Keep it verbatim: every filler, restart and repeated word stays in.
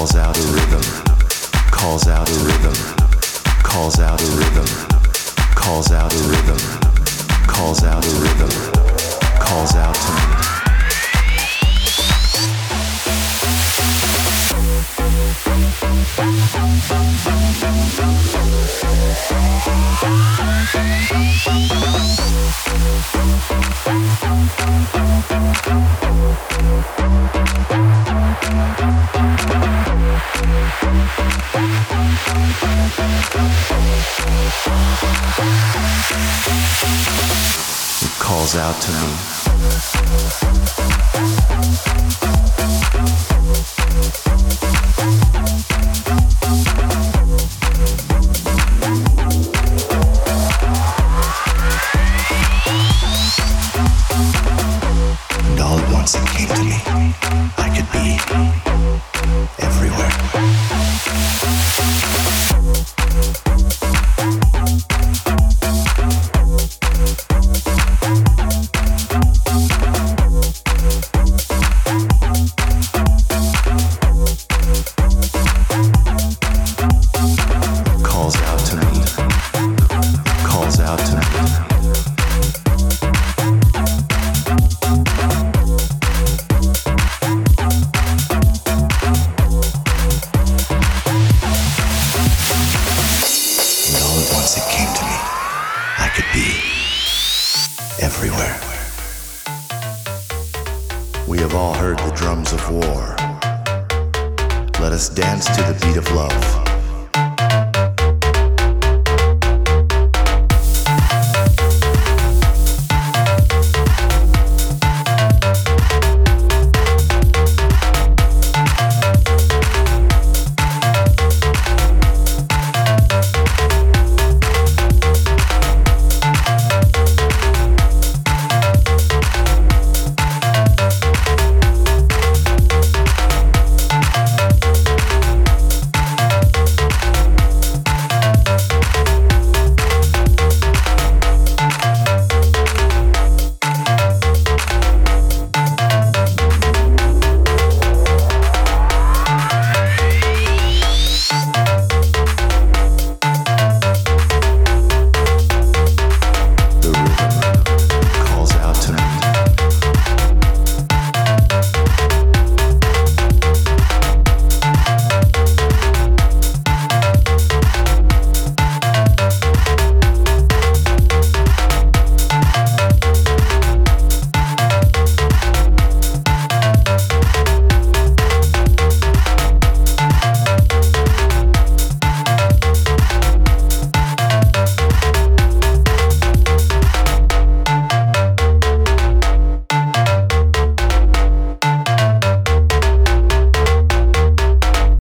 calls out a rhythm, calls out a rhythm, calls out a rhythm, calls out a rhythm, calls out a rhythm, calls out to me. It calls out to me. And all at once it came to me, I could be everywhere. Calls out to me. Calls out to me. And all at once it came to me, I could be everywhere. We have all heard the drums of war. Let us dance to the beat of love.